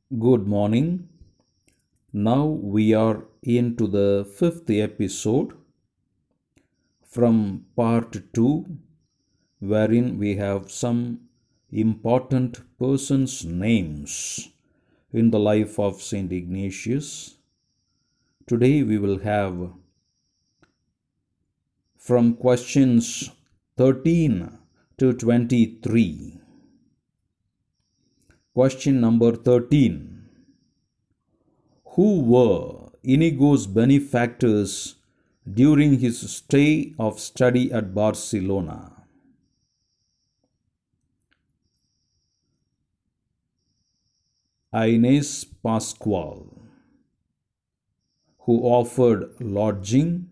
Good morning. Now we are into the fifth episode from part 2, wherein we have some important persons' names in the life of Saint Ignatius. Today we will have from questions 13 to 23. Question number 13. Who were Inigo's benefactors during his stay of study at Barcelona? Inés Pascual, who offered lodging;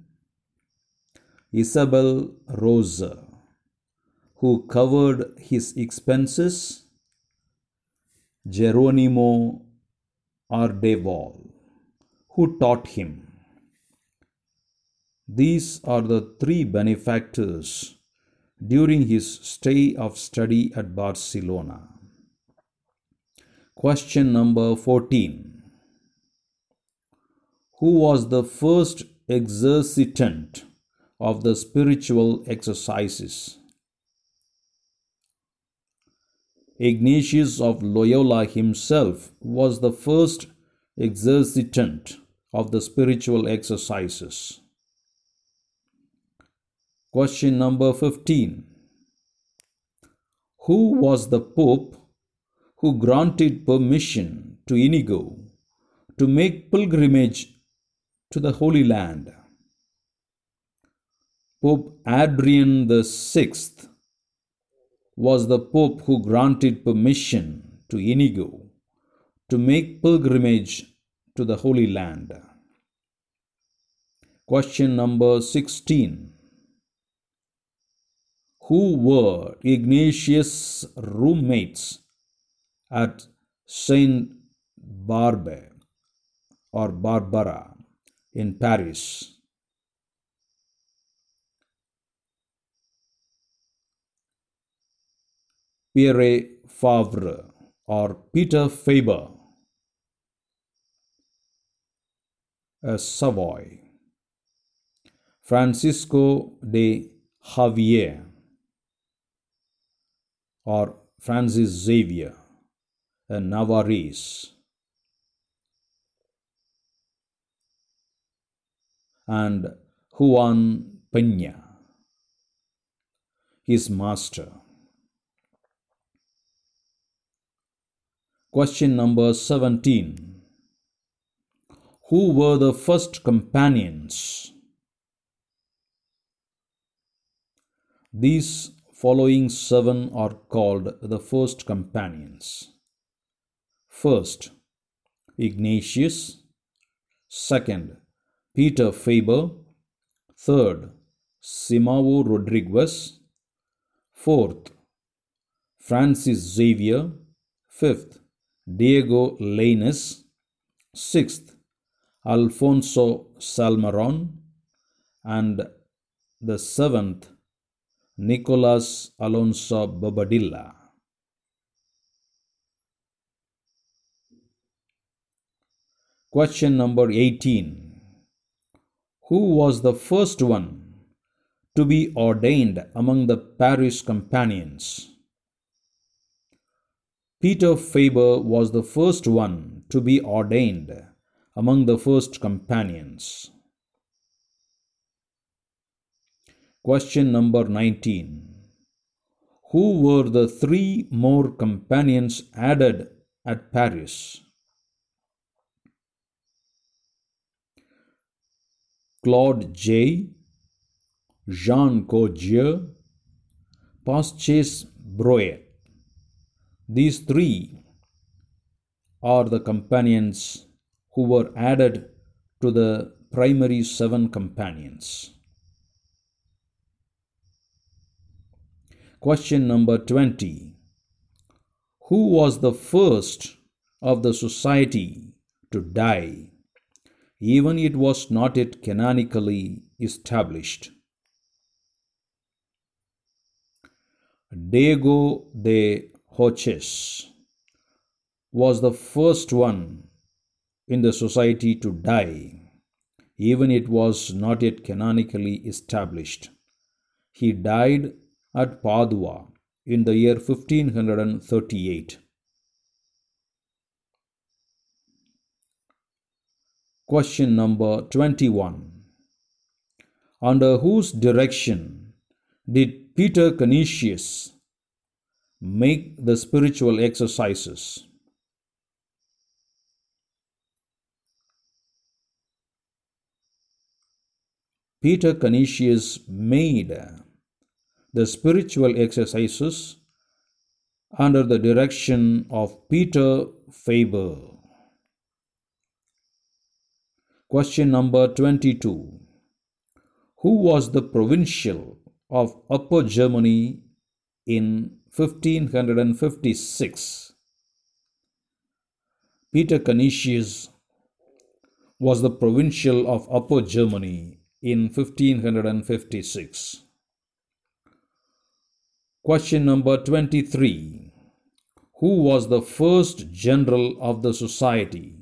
Isabel Rosa, who covered his expenses; Geronimo Ardeval, who taught him. These are the three benefactors during his stay of study at Barcelona. Question number 14. Who was the first exercitant of the spiritual exercises? Ignatius of Loyola himself was the first exercitant of the spiritual exercises. Question number 15. Who was the Pope who granted permission to Inigo to make pilgrimage to the Holy Land? Pope Adrian VI was the Pope who granted permission to Inigo to make pilgrimage to the Holy Land. Question number 16. Who were Ignatius' roommates at Saint Barbe or Barbara in Paris? Pierre Favre or Peter Faber, Savoy; Francisco de Javier or Francis Xavier, Navarrese; and Juan Peña, his master. Question number 17. Who were the first companions? These following 7 are called the first companions. First, Ignatius; second, Peter Faber; third, Simao Rodriguez; fourth, Francis Xavier; fifth, Diego Lainez; sixth, Alfonso Salmeron; and the seventh, Nicolas Alonso Bobadilla. Question number 18. Who was the first one to be ordained among the Paris companions? Peter Faber was the first one to be ordained among the first companions. Question number 19. Who were the 3 more companions added at Paris? Claude J, Jean Coggier, Pasches Breuer. These 3 are the companions who were added to the primary 7 companions. Question number 20. Who was the first of the society to die, even it was not yet canonically established? Diego de Hoces, was the first one in the society to die, even it was not yet canonically established. He died at Padua in the year 1538. Question number 21. Under whose direction did Peter Canisius make the spiritual exercises? Peter Canisius made the spiritual exercises under the direction of Peter Faber. Question number 22. Who was the provincial of Upper Germany in 1556? Peter Canisius was the provincial of Upper Germany in 1556. Question number 23. Who was the first general of the society?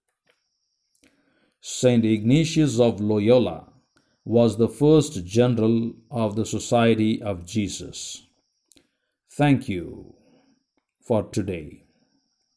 Saint Ignatius of Loyola was the first general of the Society of Jesus. Thank you for today.